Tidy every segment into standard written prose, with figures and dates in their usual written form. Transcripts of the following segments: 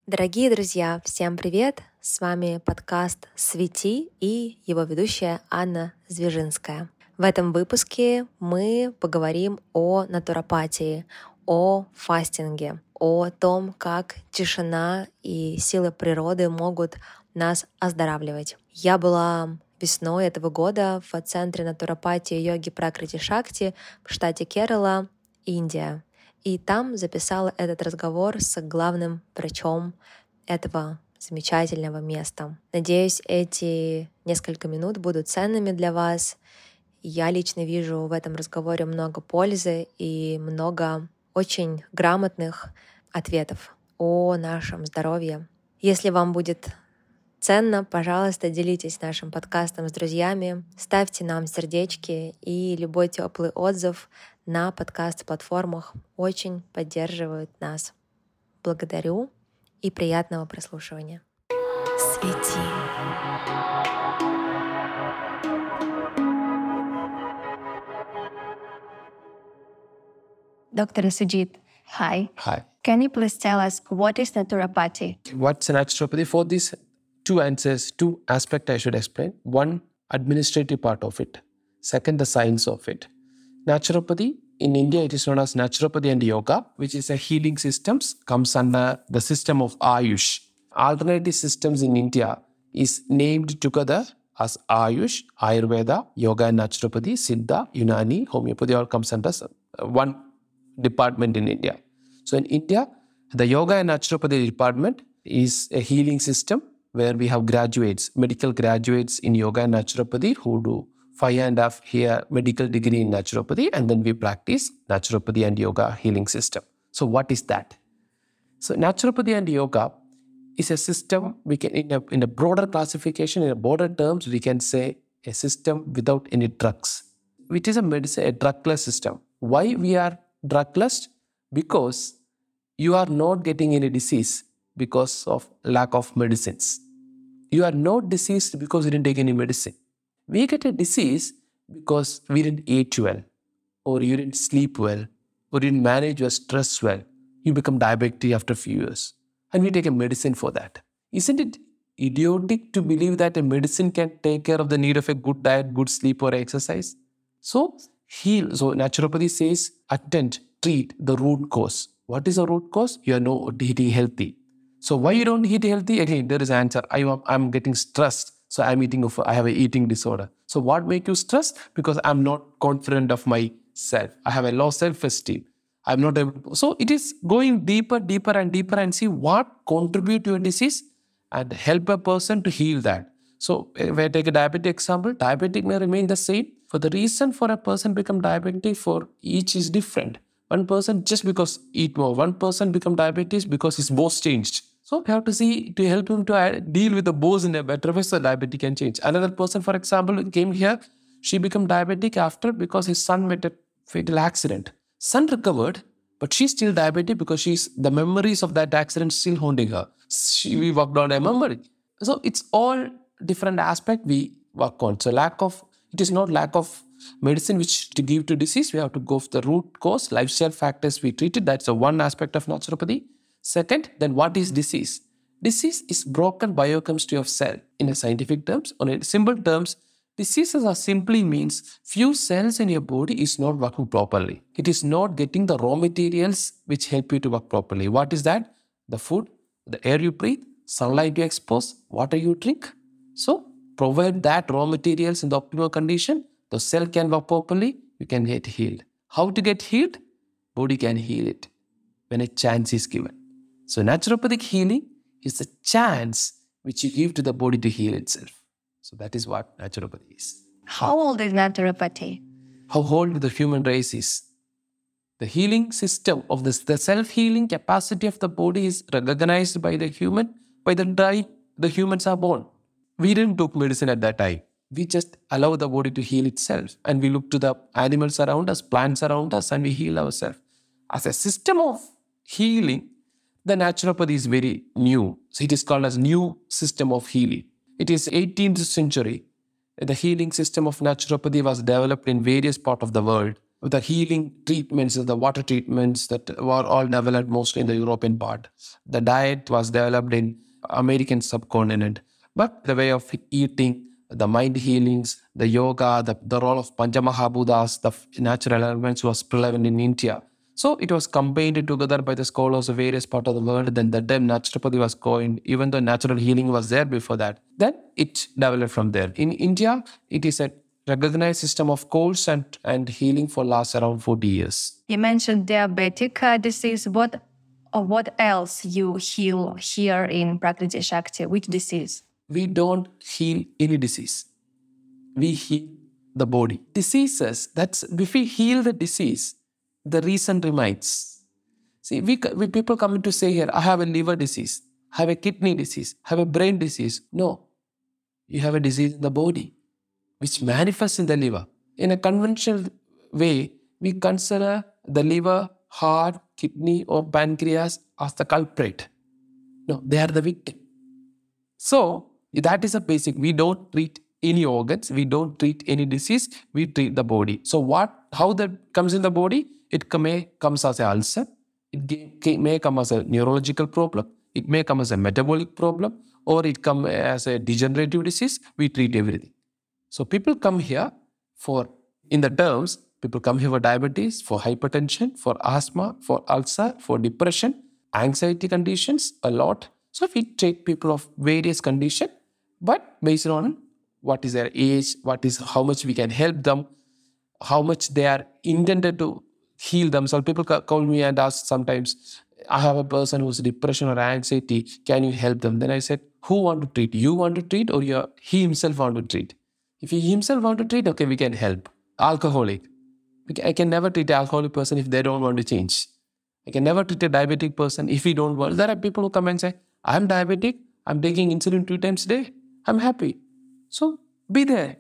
Дорогие друзья, всем привет! С вами подкаст «Свети» и его ведущая Анна Звежинская. В этом выпуске мы поговорим о натуропатии, о фастинге, о том, как тишина и силы природы могут нас оздоравливать. Я была весной этого года в центре натуропатии йоги Пракрати Шакти в штате Керала, Индия. И там записала этот разговор с главным врачом этого замечательного места. Надеюсь, эти несколько минут будут ценными для вас. Я лично вижу в этом разговоре много пользы и много очень грамотных ответов о нашем здоровье. Если вам будет ценно, пожалуйста, делитесь нашим подкастом с друзьями, ставьте нам сердечки, и любой теплый отзыв на подкаст-платформах очень поддерживают нас. Благодарю и приятного прослушивания. Свети. Dr. Sujit, hi. Hi. Can you please tell us what is naturopathy? What's naturopathy? For these two answers, two aspects I should explain. One, administrative part of it. Second, the science of it. Naturopathy, in India, it is known as naturopathy and yoga, which is a healing systems, comes under the system of Ayush. Alternative systems in India is named together as Ayush, Ayurveda, Yoga and Naturopathy, Siddha, Unani, Homeopathy, all comes under one department in India. So in India, the Yoga and Naturopathy department is a healing system where we have graduates, medical graduates in Yoga and Naturopathy who do 5.5 year medical degree in Naturopathy, and then we practice Naturopathy and Yoga healing system. So what is that? So Naturopathy and Yoga is a system we can, in a broader classification, in a broader terms, we can say a system without any drugs, which is a medicine, a drugless system. Why we are drugless? Because you are not getting any disease because of lack of medicines. You are not diseased because you didn't take any medicine. We get a disease because we didn't eat well, or you didn't sleep well, or you didn't manage your stress well. You become diabetic after a few years. And we take a medicine for that. Isn't it idiotic to believe that a medicine can take care of the need of a good diet, good sleep, or exercise? So heal. So naturopathy says attend, treat the root cause. What is the root cause? You are not eating healthy. So why you don't eat healthy? Again, there is an answer. I'm getting stressed. So I have an eating disorder. So what makes you stressed? Because I'm not confident of myself. I have a low self-esteem. I'm not able to. So it is going deeper and see what contribute to a disease and help a person to heal that. So if I take a diabetic example, diabetic may remain the same. For the reason for a person become diabetic for each is different. One person just because eat more. One person become diabetes because his bones changed. So we have to see to help him to deal with the bones in a better way so diabetes can change. Another person, for example, came here. She became diabetic after because his son met a fatal accident. Son recovered, but she's still diabetic because the memories of that accident still haunting her. We worked on a memory. So it's all different aspect we work on. So it is not lack of medicine which to give to disease. We have to go for the root cause, lifestyle factors we treated. That's the one aspect of naturopathy. Second, then what is disease? Disease is broken biochemistry of cell. In a scientific terms, or in simple terms, diseases are simply means few cells in your body is not working properly. It is not getting the raw materials which help you to work properly. What is that? The food, the air you breathe, sunlight you expose, water you drink. So provide that raw materials in the optimal condition, the cell can work properly, you can get healed. How to get healed? Body can heal it when a chance is given. So naturopathic healing is a chance which you give to the body to heal itself. So that is what naturopathy is. How old is naturopathy? How old the human race is. The healing system of the self-healing capacity of the body is recognized by the human by the time the humans are born. We didn't take medicine at that time. We just allow the body to heal itself. And we look to the animals around us, plants around us, and we heal ourselves. As a system of healing, the naturopathy is very new. So it is called as new system of healing. It is 18th century. The healing system of naturopathy was developed in various parts of the world. the healing treatments, the water treatments that were all developed mostly in the European part. The diet was developed in American subcontinent. But the way of eating, the mind healings, the yoga, the role of Panchamahabhutas, the natural elements was prevalent in India. So it was combined together by the scholars of various parts of the world. Then the time naturopathy was coined, even though natural healing was there before that. Then it developed from there. In India, it is a recognized system of course and healing for last around 40 years. You mentioned diabetic disease. What else you heal here in Prakriti Shakti? Which disease? We don't heal any disease. We heal the body. Diseases, that's if we heal the disease, the reason remains. See, we people come in to say here, I have a liver disease, I have a kidney disease, I have a brain disease. No, you have a disease in the body, which manifests in the liver. In a conventional way, we consider the liver, heart, kidney, or pancreas as the culprit. No, they are the victim. So that is a basic. We don't treat any organs. We don't treat any disease. We treat the body. So how that comes in the body? It may comes as an ulcer. It may come as a neurological problem. It may come as a metabolic problem, or it come as a degenerative disease. We treat everything. So people come here people come here for diabetes, for hypertension, for asthma, for ulcer, for depression, anxiety conditions, a lot. So we treat people of various conditions, but based on what is their age, how much we can help them, how much they are intended to heal themselves. People call me and ask sometimes, I have a person who's depression or anxiety, can you help them? Then I said, who want to treat? You want to treat, or he himself want to treat? If he himself want to treat, okay, we can help. Alcoholic. I can never treat an alcoholic person if they don't want to change. I can never treat a diabetic person if he don't want. There are people who come and say, I'm diabetic, I'm taking insulin 2 times a day, I'm happy. So be there.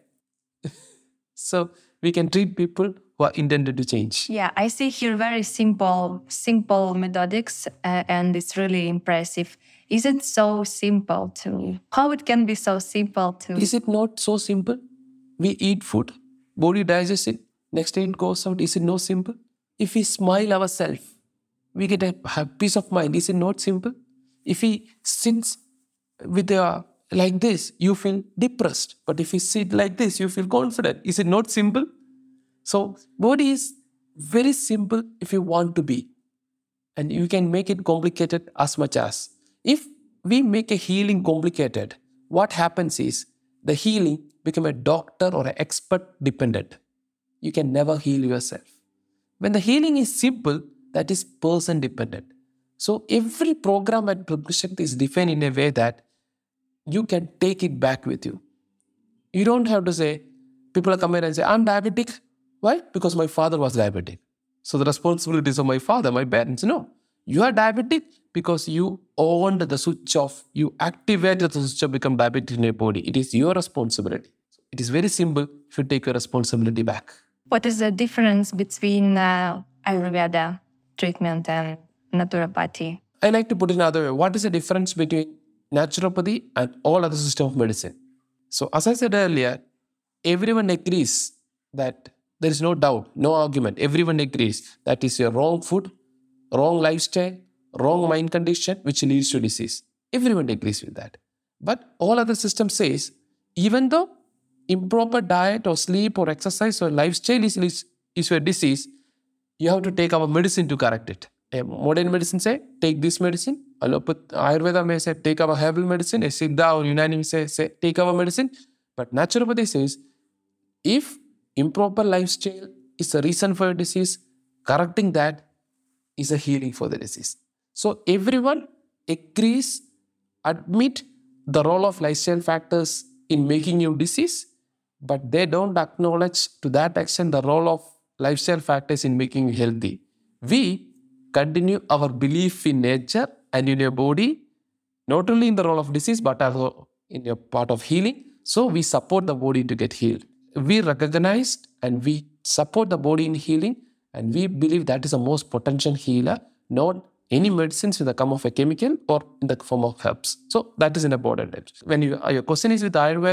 So we can treat people who are intended to change. Yeah, I see here very simple methodics, and it's really impressive. Is it so simple how it can be so simple to? Is it not so simple? We eat food, body digests it, next day it goes out. Is it not simple? If we smile ourselves, we get a peace of mind. Is it not simple? If we sit with like this, you feel depressed. But if you sit like this, you feel confident. Is it not simple? So body is very simple if you want to be. And you can make it complicated as much as. If we make a healing complicated, what happens is the healing become a doctor or an expert dependent. You can never heal yourself. When the healing is simple, that is person dependent. So every program at Prakriti Shakti is defined in a way that you can take it back with you. You don't have to say, people come here and say, I'm diabetic. Why? Because my father was diabetic. So the responsibility is of my father, my parents. No. You are diabetic because you owned the switch off. You activated the switch off, become diabetic in your body. It is your responsibility. It is very simple if you take your responsibility back. What is the difference between Ayurveda treatment and naturopathy? I like to put it another way. What is the difference between naturopathy and all other systems of medicine? So as I said earlier, everyone agrees that there is no doubt, no argument. Everyone agrees that is your wrong food, wrong lifestyle, wrong mind condition, which leads to disease. Everyone agrees with that. But all other systems says, even though improper diet or sleep or exercise or lifestyle is your disease, you have to take our medicine to correct it. Modern medicine say, take this medicine. Ayurveda may say, take our herbal medicine. A Siddha or Unani may say, take our medicine. But naturopathy says, if improper lifestyle is the reason for your disease, correcting that is a healing for the disease. So everyone agrees, admit the role of lifestyle factors in making you disease, but they don't acknowledge to that extent the role of lifestyle factors in making you healthy. We continue our belief in nature and in your body, not only in the role of disease, but also in your part of healing. So we support the body to get healed. We recognize and we support the body in healing, and we believe that is the most potential healer, not any medicines in the form of a chemical or in the form of herbs. So that is an important. When your question is with Ayurveda,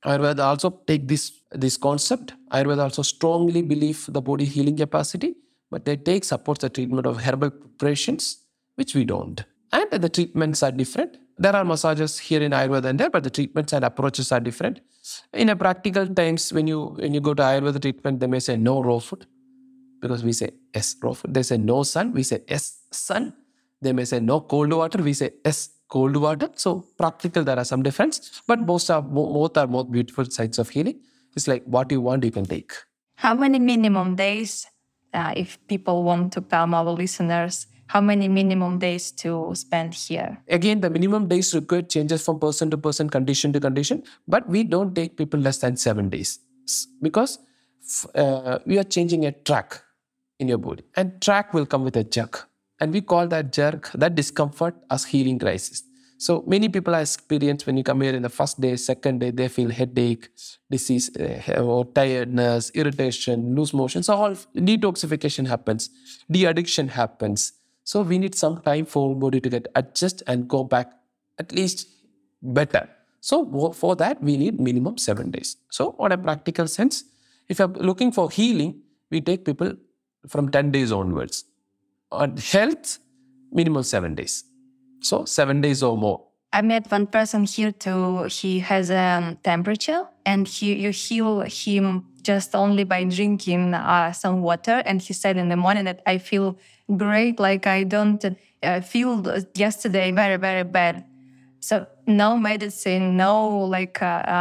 Ayurveda also take this concept. Ayurveda also strongly believe the body healing capacity, but they take supports the treatment of herbal preparations, which we don't. And the treatments are different. There are massages here in Ayurveda and there, but the treatments and approaches are different. In a practical times, when you go to Ayurveda treatment, they may say no raw food, because we say yes raw food. They say no sun, we say yes sun. They may say no cold water, we say yes cold water. So practical, there are some difference, but both are more beautiful sides of healing. It's like what you want, you can take. How many minimum days, if people want to come, our listeners, how many minimum days to spend here? Again, the minimum days required changes from person to person, condition to condition, but we don't take people less than 7 days because we are changing a track in your body, and track will come with a jerk, and we call that jerk, that discomfort, as healing crisis. So many people are experienced when you come here in the first day, second day, they feel headache, disease, or tiredness, irritation, loose motion. So all detoxification happens, de-addiction happens. So we need some time for body to get adjust and go back at least better. So for that, we need minimum 7 days. So on a practical sense, if you're looking for healing, we take people from 10 days onwards. On health, minimum 7 days. So 7 days or more. I met one person here too. He has a temperature, and you heal him just only by drinking some water. And he said in the morning that I feel great, like I don't feel yesterday very, very bad. So no medicine, no like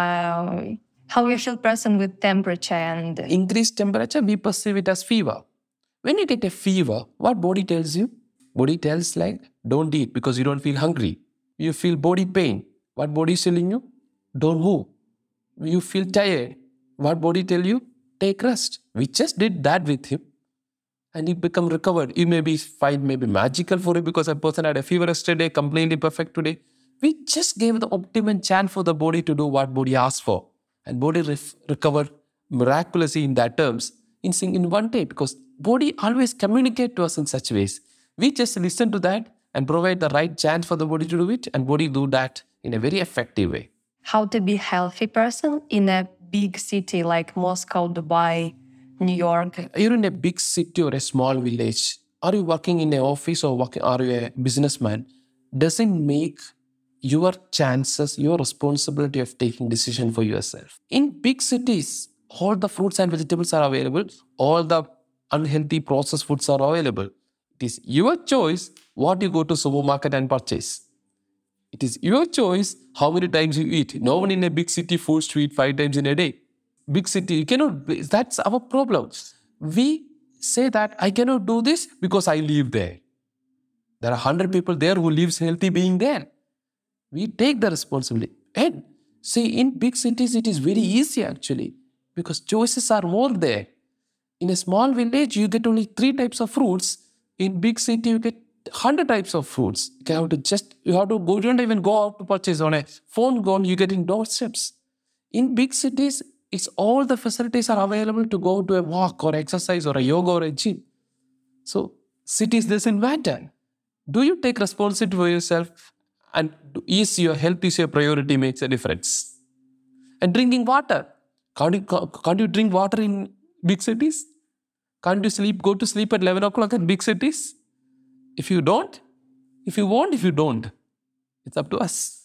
how you feel person with temperature and increased temperature, we perceive it as fever. When you get a fever, what body tells you? Body tells like, don't eat because you don't feel hungry. You feel body pain. What body is telling you? Don't move. You feel tired. What body tell you? Take rest. We just did that with him, and he become recovered. You may be find maybe magical for it because a person had a fever yesterday, completely perfect today. We just gave the optimum chance for the body to do what body asked for, and body recovered miraculously in that terms in one day, because body always communicate to us in such ways. We just listen to that and provide the right chance for the body to do it, and body do that in a very effective way. How to be healthy person in a big city like Moscow, Dubai, New York? You're in a big city or a small village. Are you working in an office or are you a businessman? Doesn't make your chances, your responsibility of taking decision for yourself. In big cities, all the fruits and vegetables are available. All the unhealthy processed foods are available. It is your choice what you go to supermarket and purchase. It is your choice how many times you eat. No one in a big city forced to eat 5 times in a day. Big city, you cannot, that's our problem. We say that I cannot do this because I live there. There are 100 people there who lives healthy being there. We take the responsibility. And see, in big cities, it is very easy actually, because choices are more there. In a small village, you get only 3 types of fruits. In big city, you get 100 types of fruits. You have to go, you don't even go out to purchase. On a phone call, you get in doorsteps. In big cities, it's all the facilities are available to go to a walk or exercise or a yoga or a gym. So cities doesn't matter. Do you take responsibility for yourself, and is your health is your priority, makes a difference. And drinking water. Can't you drink water in big cities? Can't you go to sleep at 11 o'clock in big cities? If you don't, if you want, if you don't, it's up to us.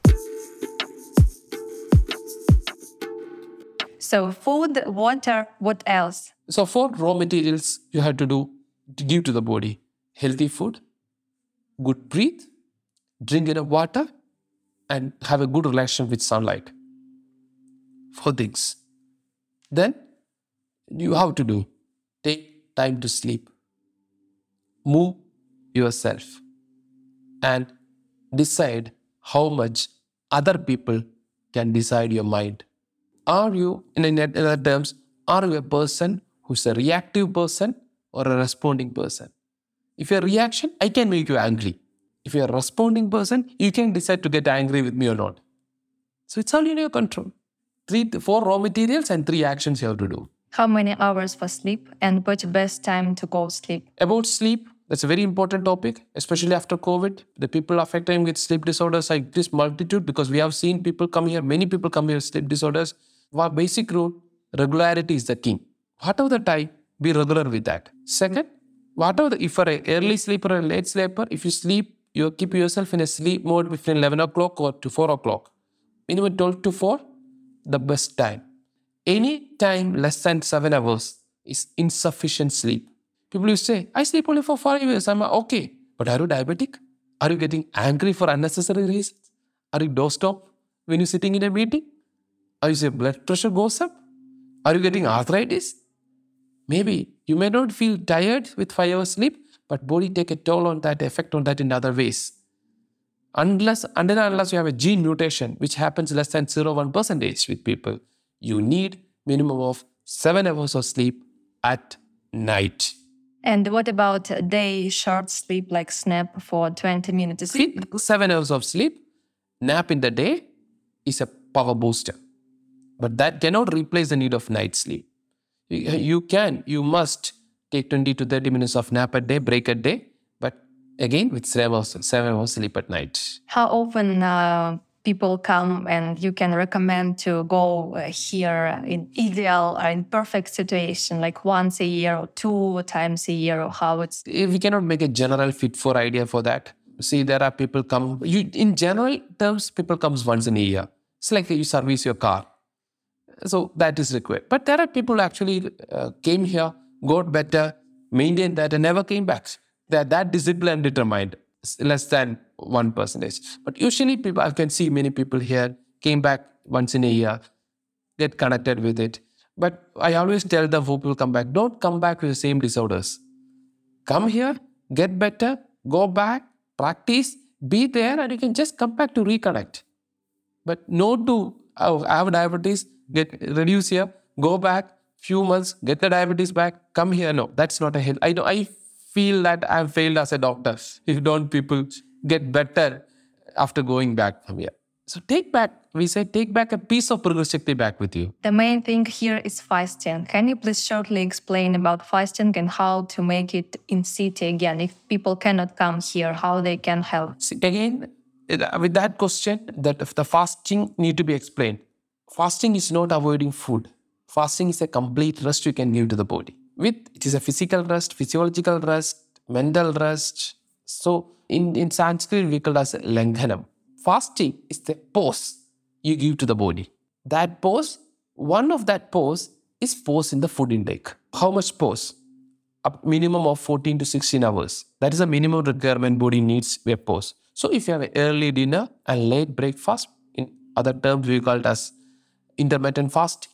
So food, water, what else? So for raw materials, you have to give to the body healthy food, good breathe, drink enough water, and have a good relation with sunlight. 4 things. Then you have to take time to sleep, move yourself, and decide how much other people can decide your mind. Are you, in other terms, are you a person who's a reactive person or a responding person? If you're a reaction, I can make you angry. If you're a responding person, you can decide to get angry with me or not. So it's all in your control. 4 raw materials and 3 actions you have to do. How many hours for sleep, and what's the best time to go sleep? About sleep, That's a very important topic, especially after COVID. The people affected with sleep disorders are this multitude because we have seen people come here, many people come here with sleep disorders. Our basic rule, regularity is the key. Whatever the time, be regular with that. Second, if you're an early sleeper or a late sleeper, if you sleep, you keep yourself in a sleep mode between 11 o'clock or to 4 o'clock. Minimum 12 to 4, the best time. Any time less than 7 hours is insufficient sleep. People will say, I sleep only for 5 years. I'm okay. But are you diabetic? Are you getting angry for unnecessary reasons? Are you doorstop when you're sitting in a meeting? Are you say blood pressure goes up? Are you getting arthritis? Maybe you may not feel tired with 5 hours sleep, but body take a toll on that, effect on that in other ways. Unless you have a gene mutation, which happens less than 0.1% with people, you need minimum of 7 hours of sleep at night. And what about a day short sleep, like snap for 20 minutes? 7 hours of sleep, nap in the day is a power booster. But that cannot replace the need of night sleep. You must take 20 to 30 minutes of nap a day, break a day, but again with 7 hours sleep at night. How often people come and you can recommend to go here in ideal or in perfect situation, like once a year or 2 times a year, or how it's... We cannot make a general fit for idea for that. See, there are people come, in general terms, people comes once in a year. It's like you service your car. So that is required. But there are people who actually came here, got better, maintained that and never came back. They are that disciplined, determined. Less than 1%. But usually people, I can see many people here came back once in a year, get connected with it. But I always tell them who people come back, don't come back with the same disorders. Come here, get better, go back, practice, be there, and you can just come back to reconnect. But not to have diabetes, reduce here, go back, few months, get the diabetes back, come here. No, that's not a health. I feel that I've failed as a doctor if don't people get better after going back from here. So take back a piece of Purga Shakti back with you. The main thing here is fasting. Can you please shortly explain about fasting and how to make it in city again? If people cannot come here, how they can help? See, again, with that question, that if the fasting need to be explained. Fasting is not avoiding food. Fasting is a complete rest you can give to the body. It is a physical rest, physiological rest, mental rest. So in Sanskrit, we call it as Langhanam. Fasting is the pause you give to the body. That pause, one of that pause is pause in the food intake. How much pause? A minimum of 14 to 16 hours. That is a minimum requirement body needs a pause. So if you have an early dinner and late breakfast, in other terms we call it as intermittent fasting.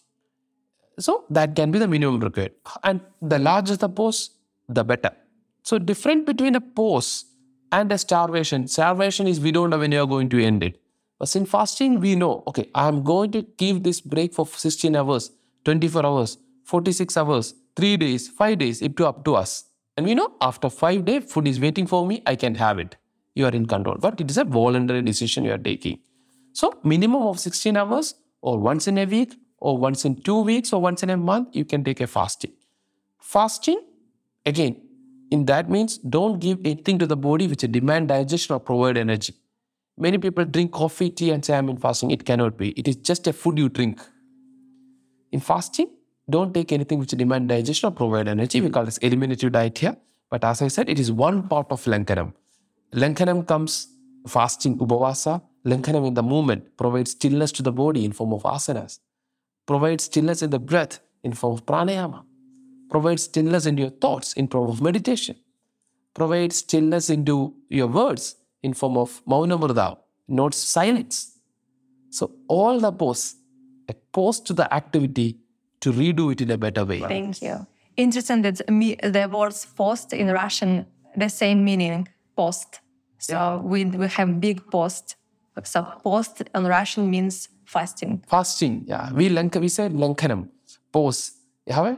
So that can be the minimum required. And the larger the pause, the better. So different between a pause and a starvation. Starvation is we don't know when you are going to end it. But in fasting, we know, okay, I'm going to give this break for 16 hours, 24 hours, 46 hours, 3 days, 5 days, up to us. And we know after 5 days, food is waiting for me, I can have it. You are in control. But it is a voluntary decision you are taking. So minimum of 16 hours or once in a week, or once in 2 weeks, or once in a month, you can take a fasting. Fasting, again, in that means don't give anything to the body which demand digestion or provide energy. Many people drink coffee, tea and say I'm in fasting. It cannot be. It is just a food you drink. In fasting, don't take anything which demand digestion or provide energy. We call this eliminative diet here. But as I said, it is one part of Langhanam. Langhanam comes fasting, Upavasa. Langhanam in the movement provides stillness to the body in form of asanas. Provides stillness in the breath in form of pranayama. Provides stillness in your thoughts in form of meditation. Provides stillness into your words in form of maunamrita, not silence. So all the pause, a pause to the activity to redo it in a better way. Thank you. Interesting that the words post in Russian, the same meaning, post. So we have big post. So post in Russian means fasting. Fasting, yeah. We said Langhanam, pause. You have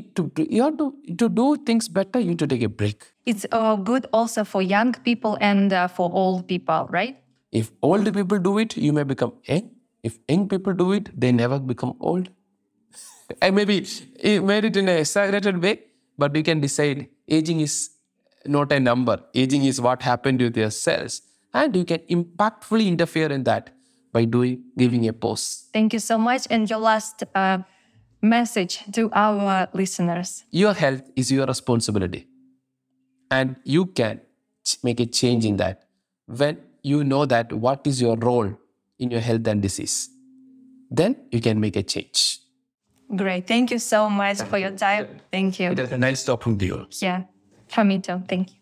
to do things better, you need to take a break. It's good also for young people and for old people, right? If old people do it, you may become young. If young people do it, they never become old. And maybe it made it in a exaggerated way, but we can decide aging is not a number. Aging is what happened with your cells. And you can impactfully interfere in that by giving a pause. Thank you so much. And your last message to our listeners. Your health is your responsibility. And you can make a change in that when you know that what is your role in your health and disease. Then you can make a change. Great. Thank you so much for your time. Thank you. It was a nice talking to you. Yeah, for me too. Thank you.